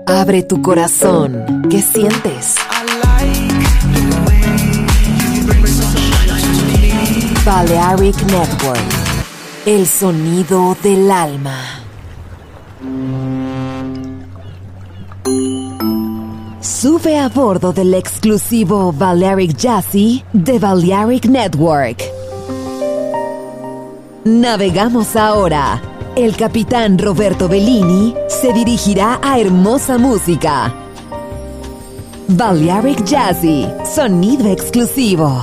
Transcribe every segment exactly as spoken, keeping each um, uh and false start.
Abre tu corazón. ¿Qué sientes? Balearic Network. El sonido del alma. Sube a bordo del exclusivo Balearic Jazzy de Balearic Network. Navegamos ahora. El capitán Roberto Bellini se dirigirá a hermosa música. Balearic Jazzy, sonido exclusivo.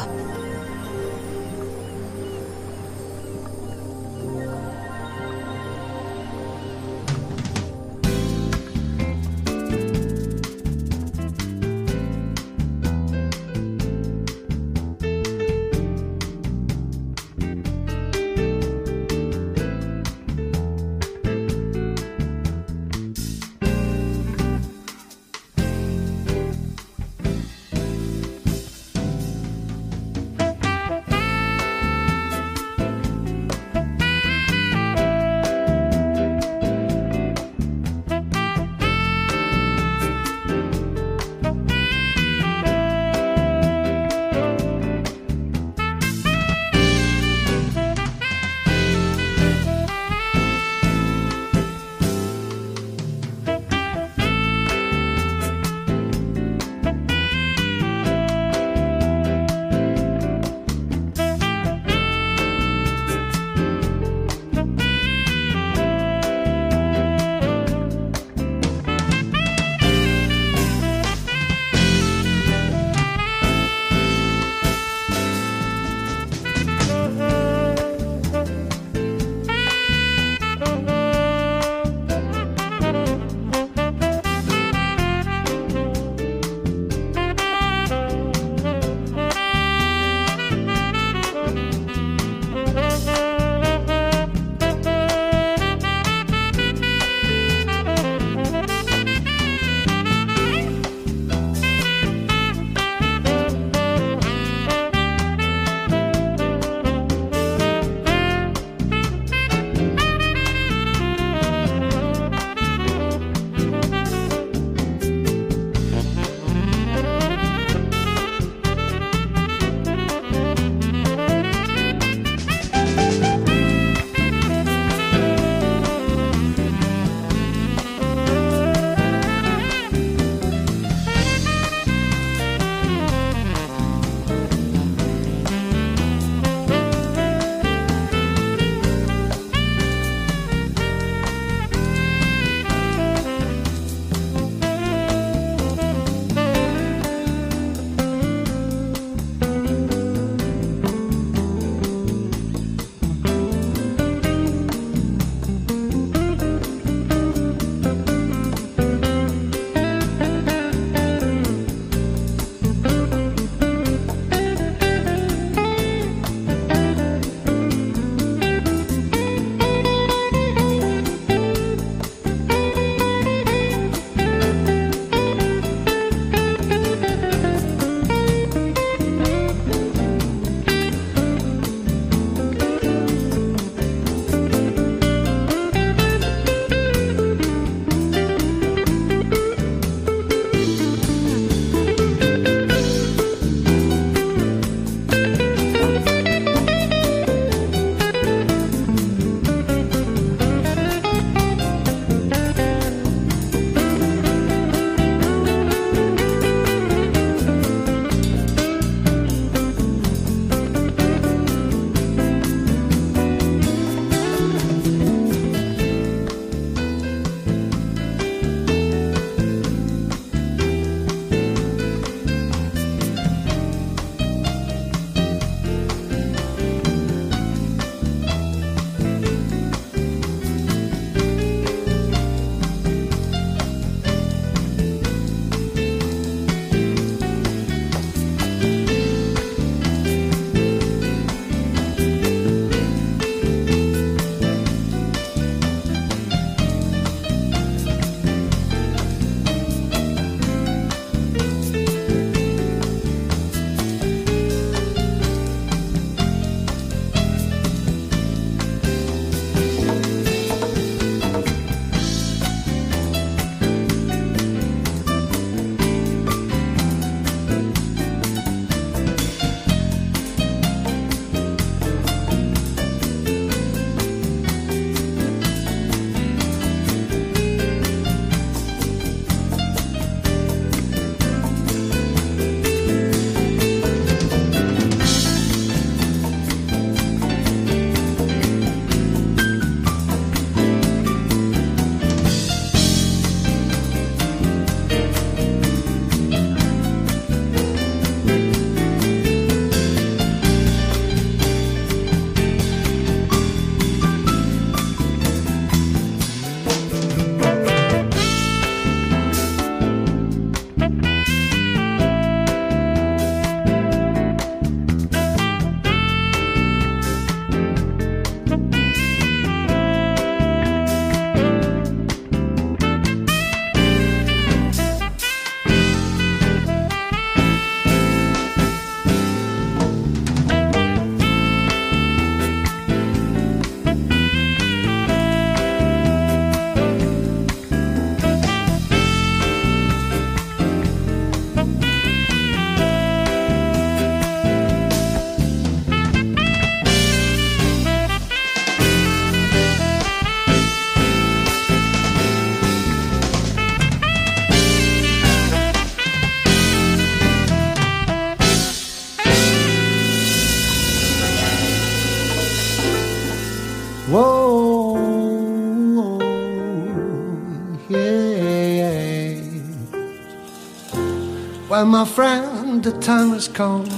Well, my friend, the time has come.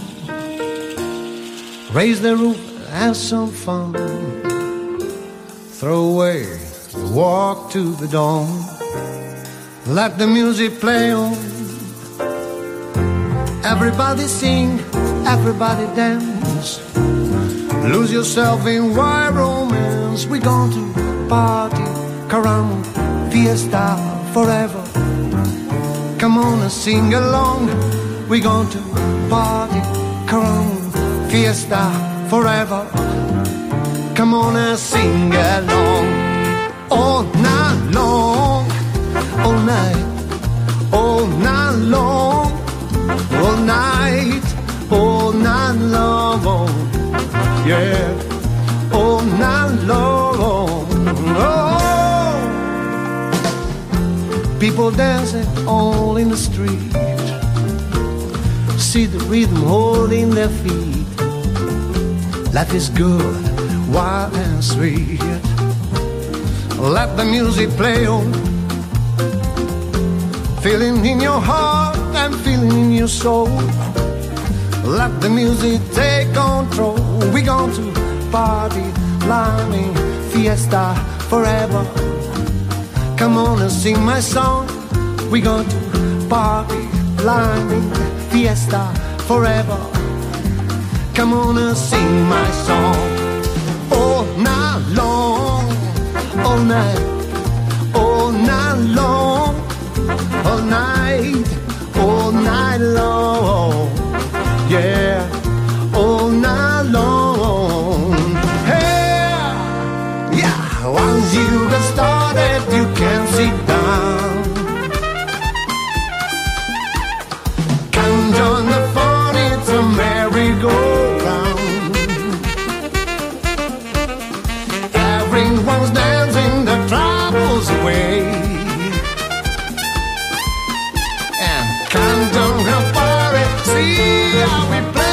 Raise the roof, have some fun. Throw away the walk to the dawn. Let the music play on. Everybody sing, everybody dance. Lose yourself in wild romance. We're going to party, caramba, fiesta forever. Come on and sing along. We're going to party, caramba, fiesta forever. Come on and sing along. All night long, all night, all night long, all night, all night long, yeah, all night long. Oh, people dancing all in the street. See the rhythm holding their feet. Life is good, wild and sweet. Let the music play on. Feeling in your heart and feeling in your soul. Let the music take control. We're going to party, climbing, fiesta forever. Come on and sing my song. We're going to party, climbing, fiesta forever. Come on and sing my song. All night long, all night, all night long, all night, all night long, yeah, all night long. Hey, yeah, once you get started, you can't sit down. Come join the fun, it's a merry-go-round. Everyone's dancing the troubles away. And come down the party, see how we play.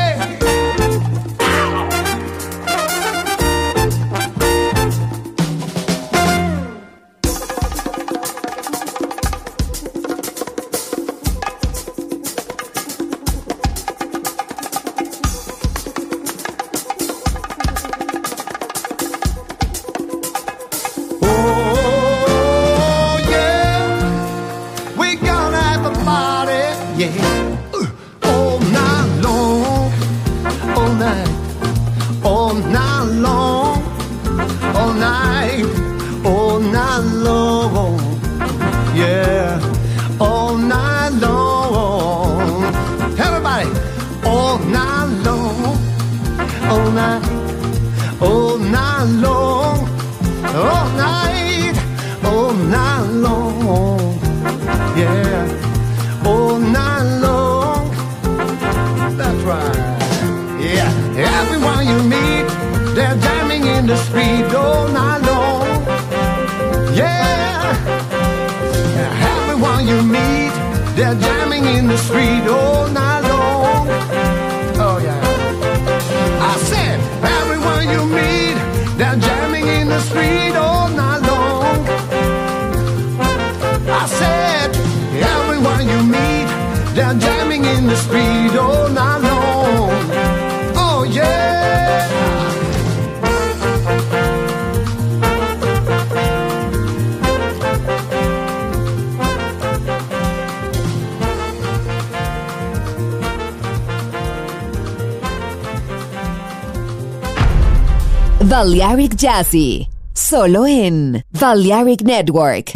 Balearic Jazzy, solo en Balearic Network.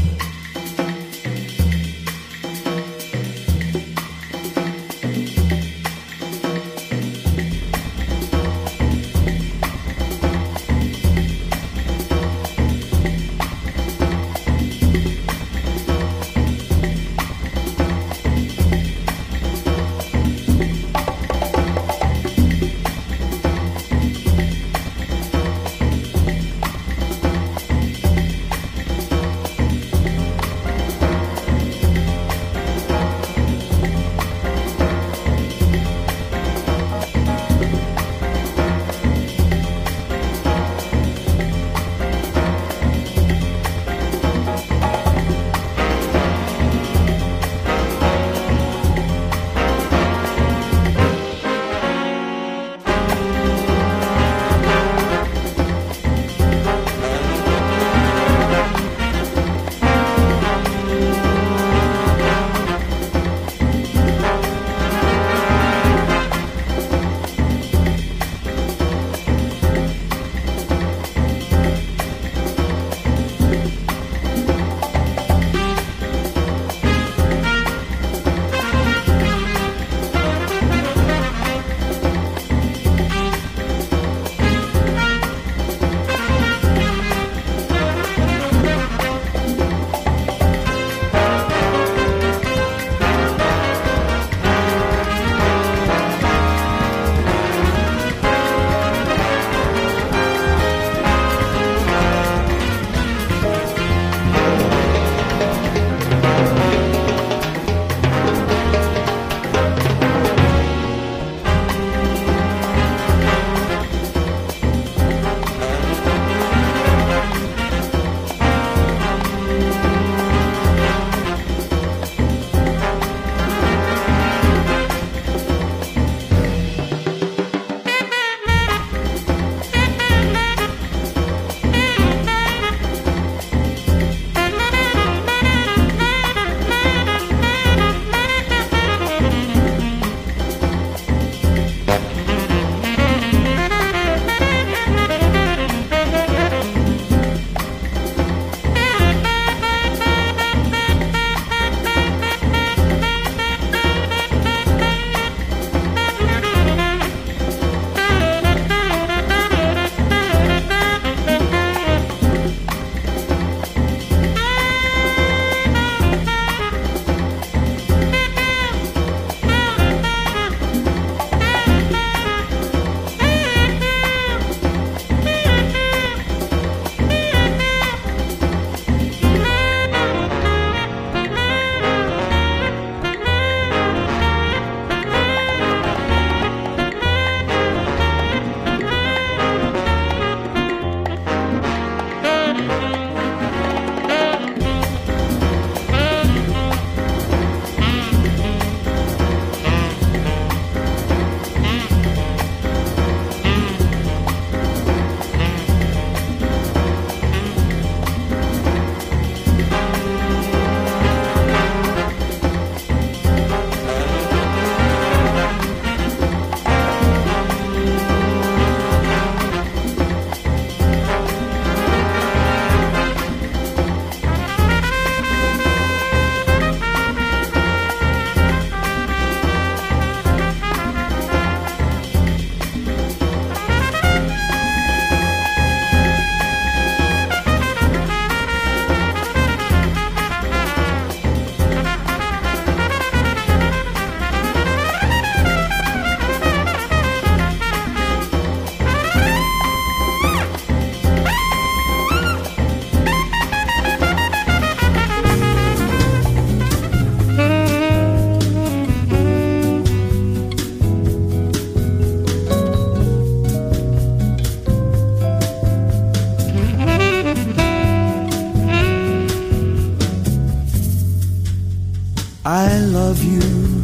I love you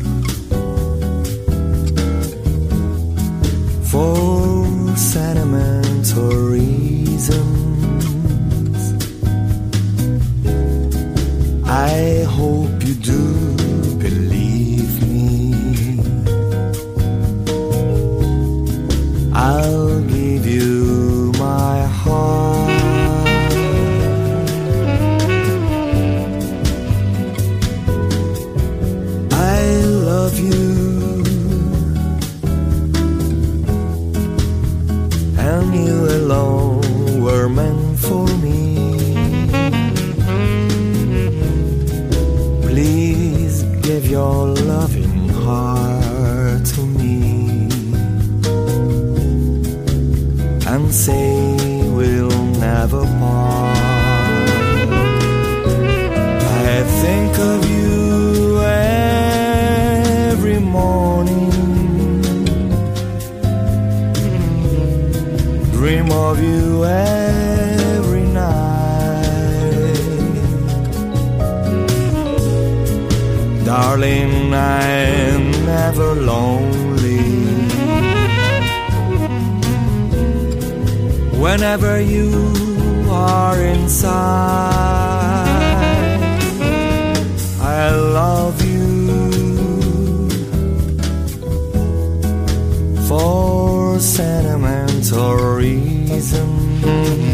for sentimental reasons. I hope you do believe me. I'll give you my heart. I love you, and you alone were meant for me. Please give your loving heart to me and say we'll never part. I think of you every morning, dream of you every night. Darling, I'm never lonely whenever you are inside. I love you for sentimental reasons.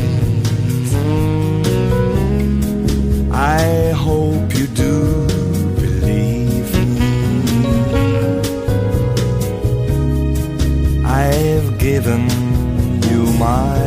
I hope you do believe me. I've given you my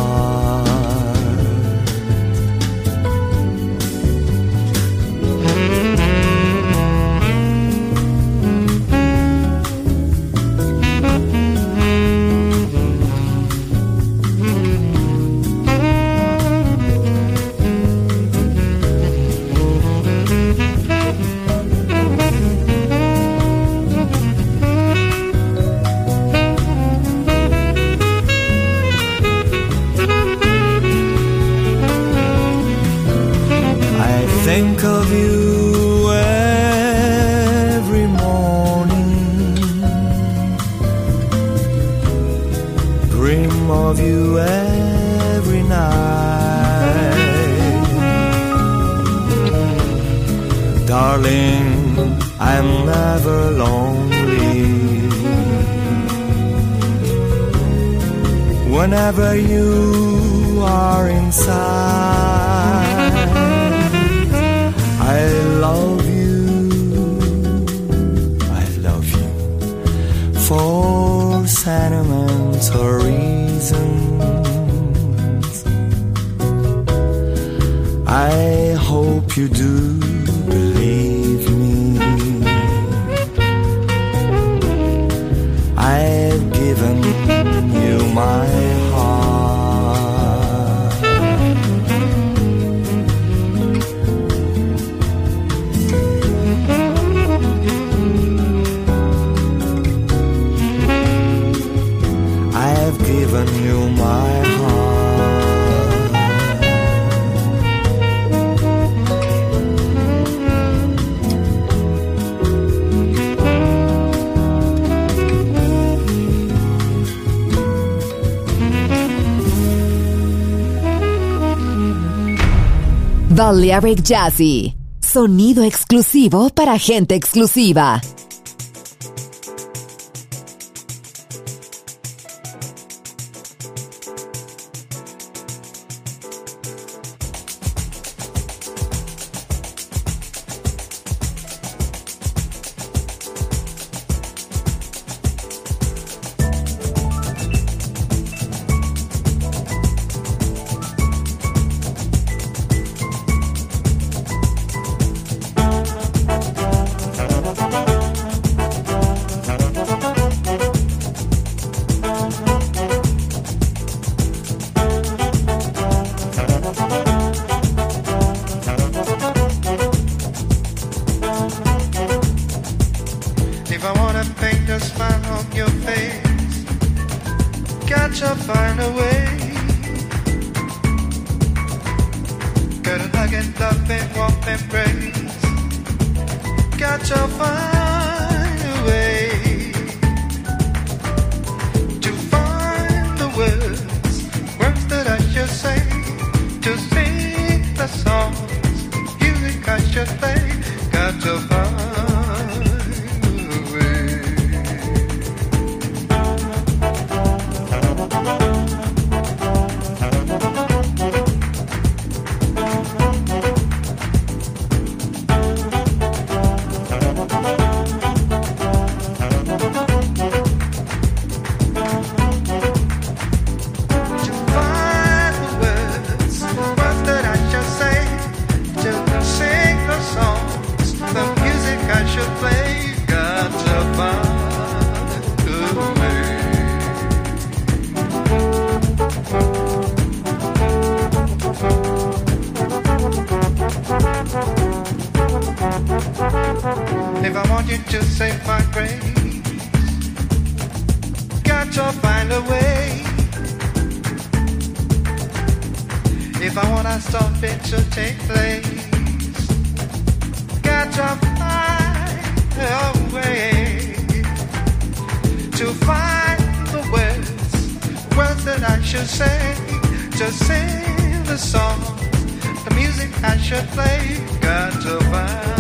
think of you every morning, dream of you every night. Darling, I'm never lonely whenever you are inside. I love you, I love you for sentimental reasons. I hope you do believe me. I've given you my heart. Given you my heart. Balearic Jazzy, sonido exclusivo para gente exclusiva. Gotta find a way. Gotta hug and love and warm embrace. Got to find a way to find the words, words that I should say, to sing the songs, music I should play. Got to find to save my grace, got to find a way. If I want to stop it to take place, got to find a way to find the words, words that I should say, to sing the song, the music I should play. Got to find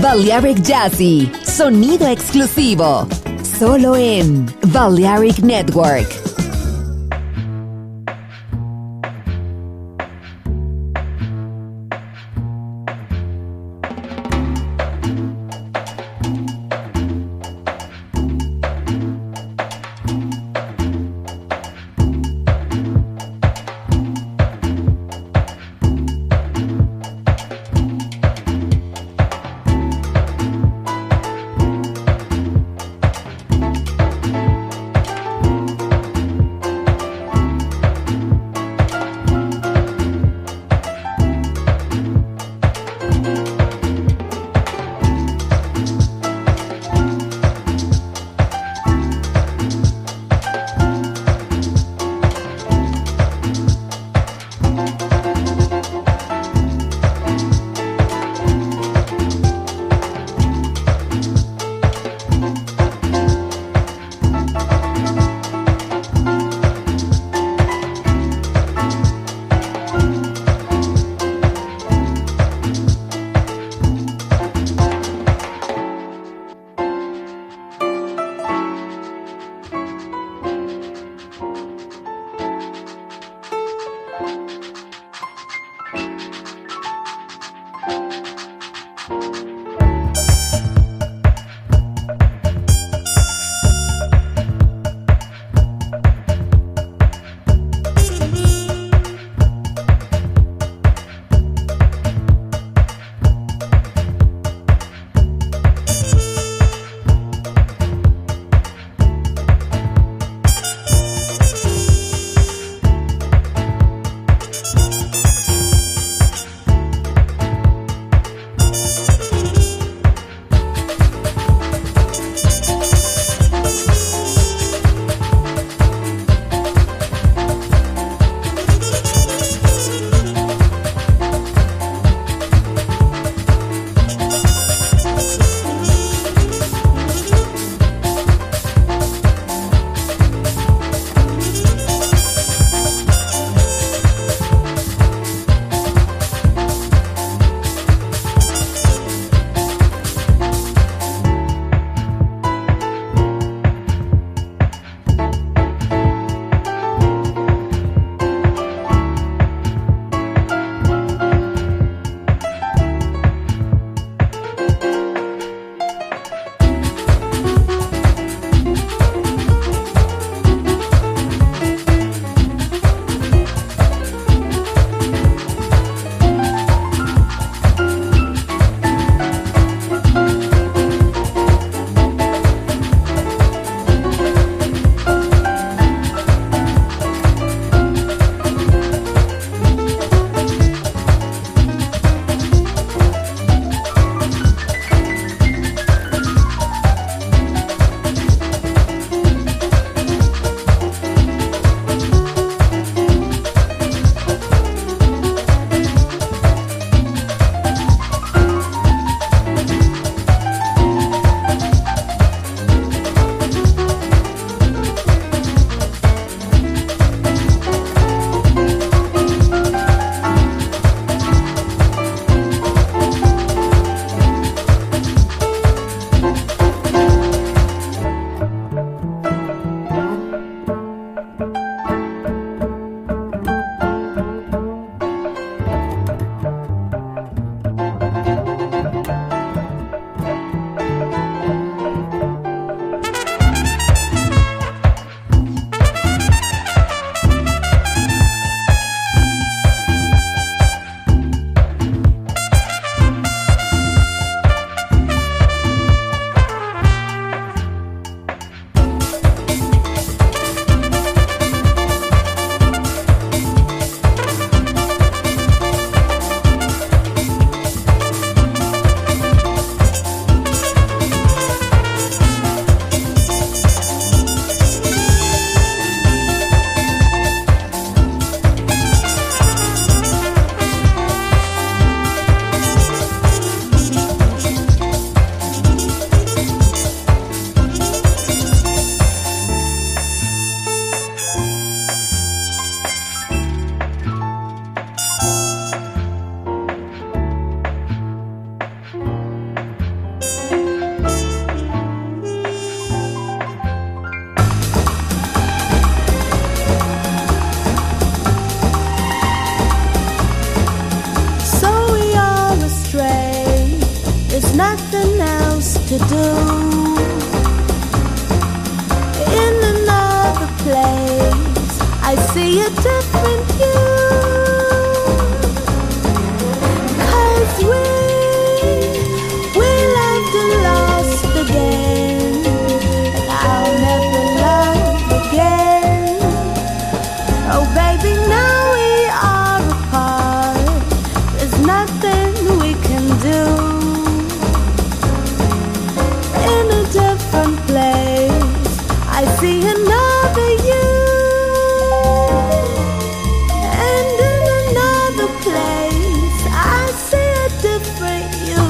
Balearic Jazzy, sonido exclusivo, solo en Balearic Network. nothing else to do. In another place, I see a different you. 'Cause we, we loved and lost again, and I'll never love again. Oh baby, now we are apart. There's nothing we can do. In a different place, I see another you. And in another place, I see a different you.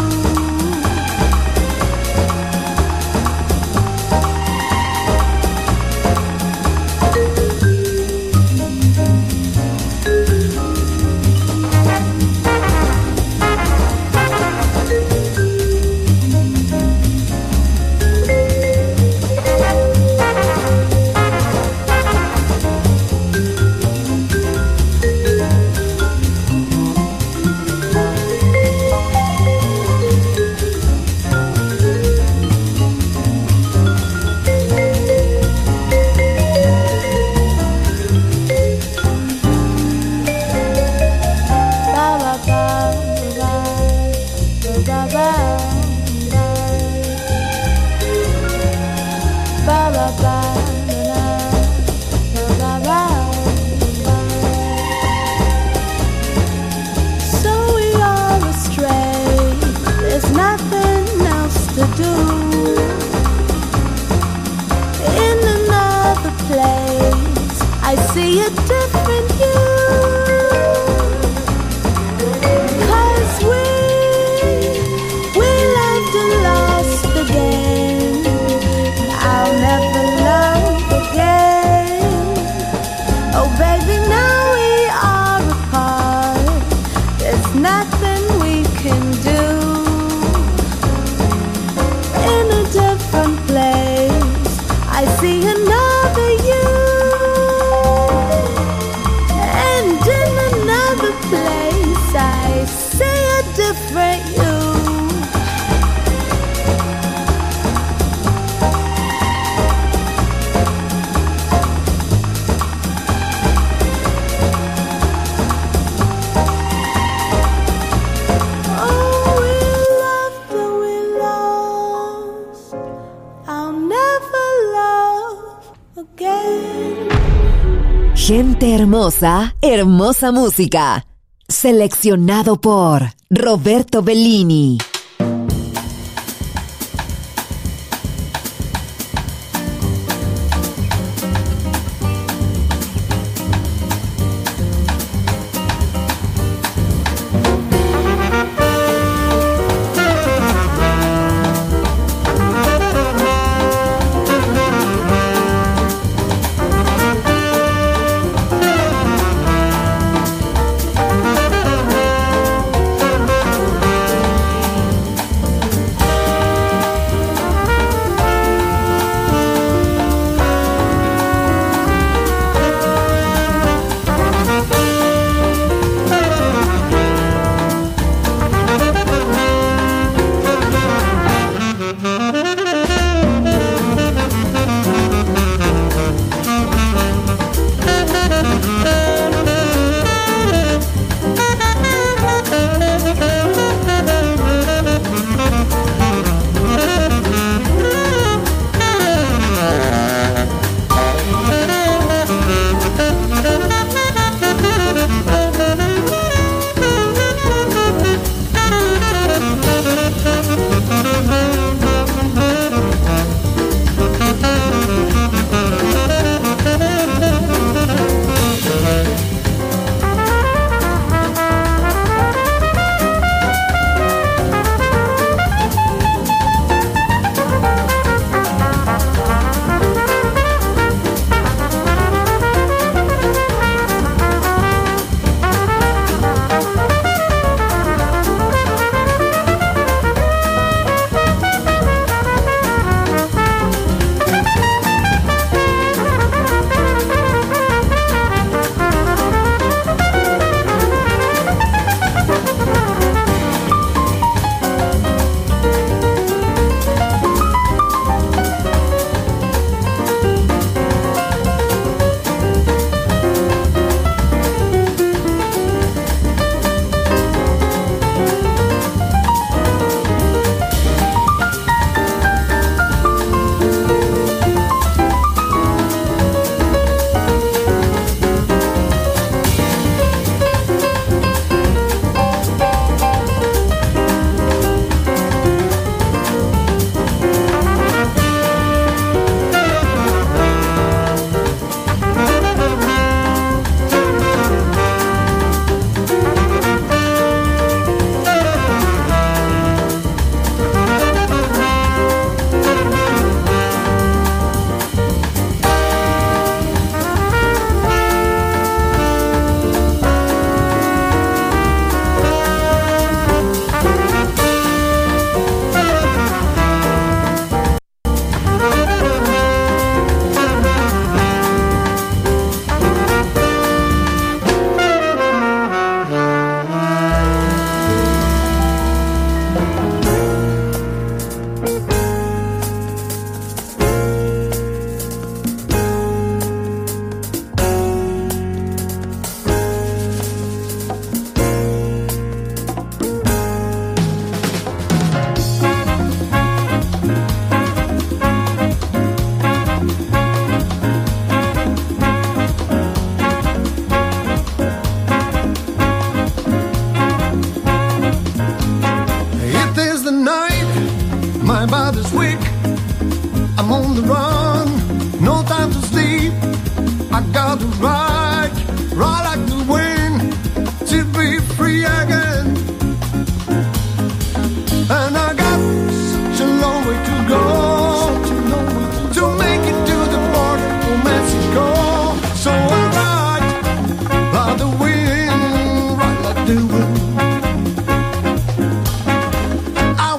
So we are astray. There's nothing else to do. In another place, I see a different you. 'Cause we, we loved and lost again. I'll never love again. Oh baby, now we are apart. There's nothing we can do. In a different place, I see another you. And in another place, I see a different you. Oh, we loved and we lost. I'll never love again. Gente hermosa, hermosa música. Seleccionado por Roberto Bellini.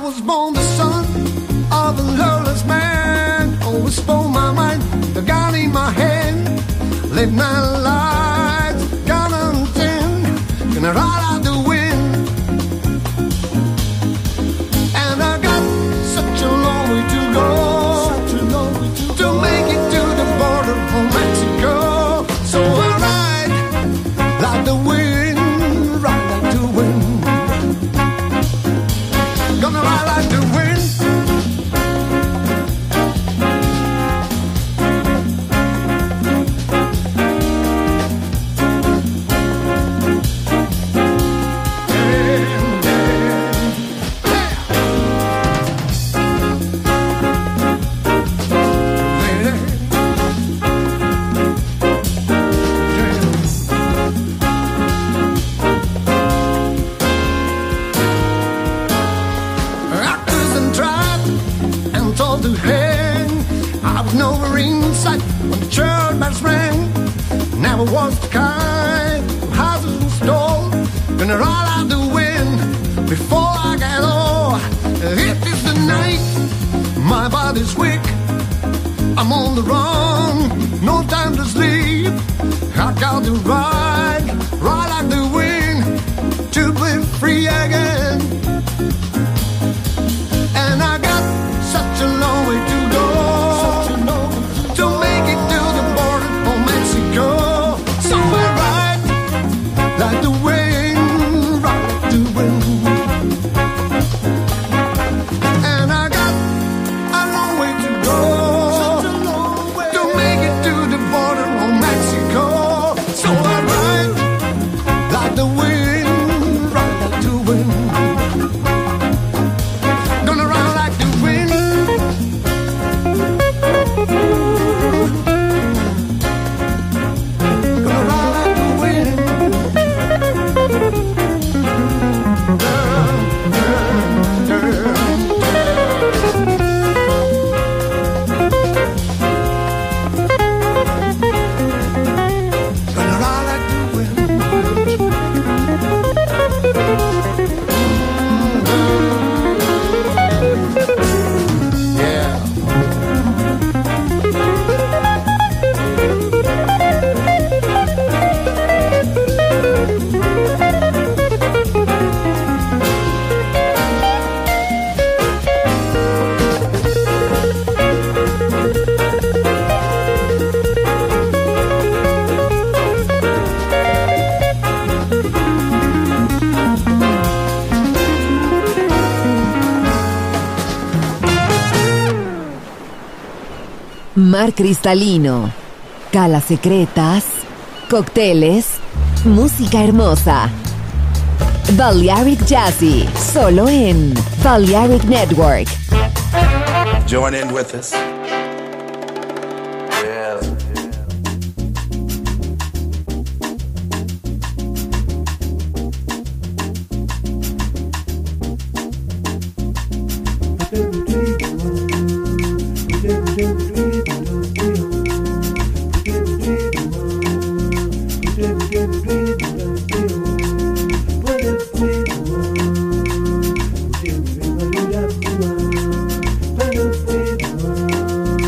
was born the son of a loveless man. Always spoke my mind, the gun in my hand. Live my life, gun on tin, gonna ride out the wind. And I got such a long way to go, such a long way to, to make it to the border of Mexico. So I ride like the wind, ride like the wind. Gonna ride like the wind. Never was the kind of houses and stole. Gonna ride out the wind before I get old. It is the night, my body's weak. I'm on the run, no time to sleep. I got to ride, ride like the wind to be free again. And I got such a long way to go, such a long way to make it to the border of Mexico. So I ride like the wind, ride like the wind. And I got a long way to go, such a long way to make it to the border of Mexico. So I ride like the wind, ride like the wind. Gonna ride like the wind. Gonna ride like the wind. Gonna ride like the wind. Yeah. Mar cristalino, calas secretas, cócteles, música hermosa. Balearic Jazzy, solo en Balearic Network. Join in with us. Yeah. Thank you.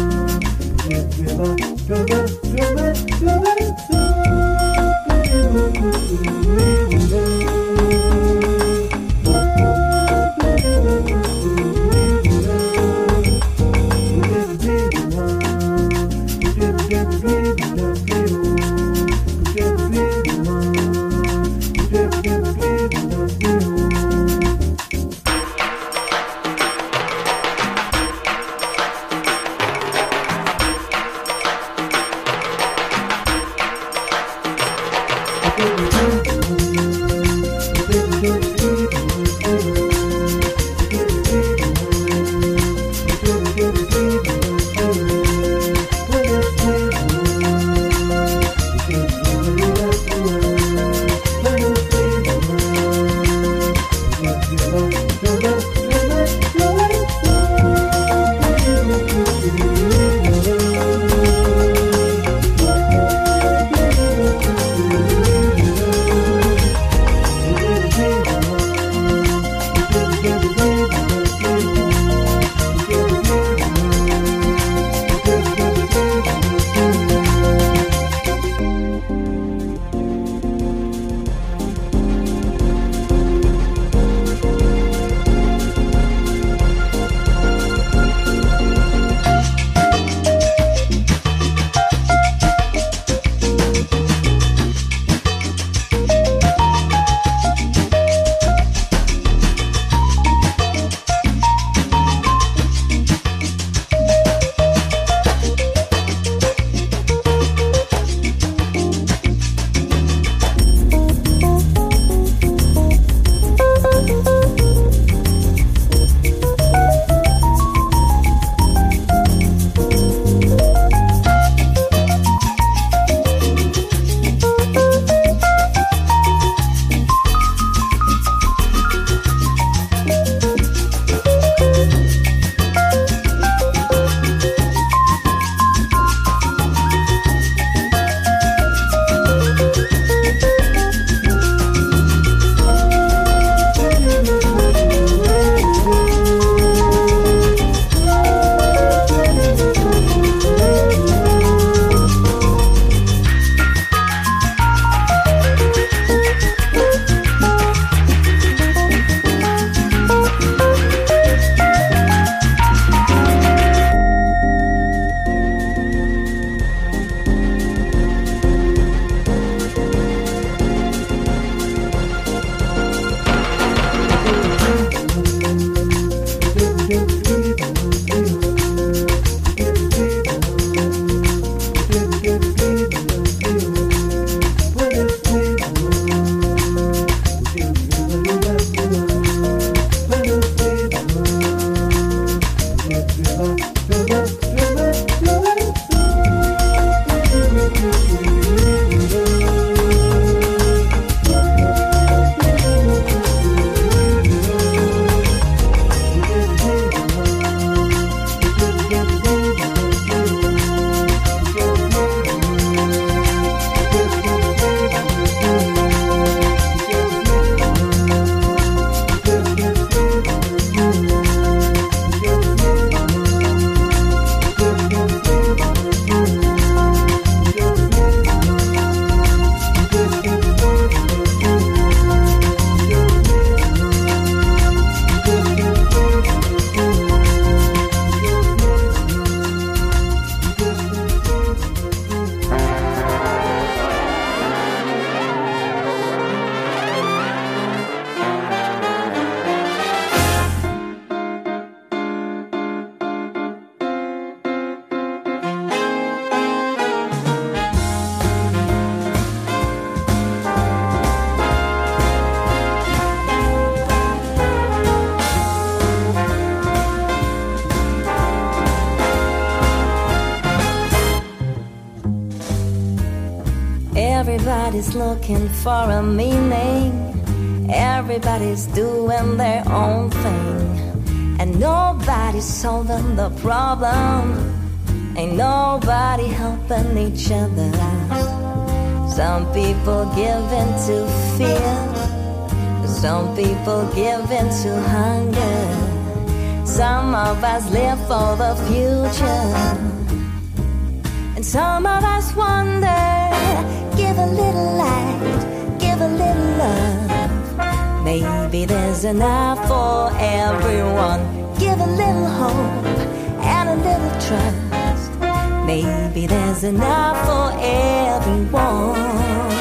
Everybody's looking for a meaning. Everybody's doing their own thing. And nobody's solving the problem. Ain't nobody helping each other. Some people give in to fear. Some people give in to hunger. Some of us live for the future. And some of us wonder, give a little light, give a little love. Maybe there's enough for everyone. Give a little hope and a little trust. Maybe there's enough for everyone.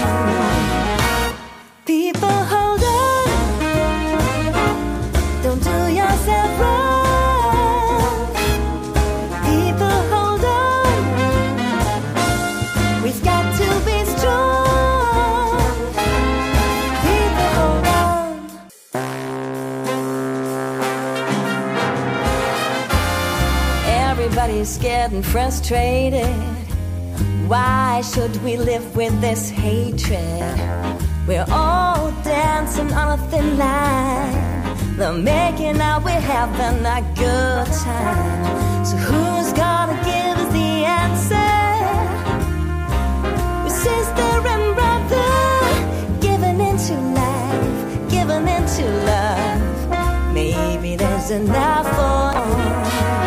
People, hold on. Don't do yourself wrong. People, hold on. We've got to be strong. People, hold on. Everybody's scared and frustrated. Why should we live with this hatred? We're all dancing on a thin line. They're making out we're having a good time. So who's gonna give us the answer? We're sister and brother, giving into life, giving into love. Maybe there's enough for all.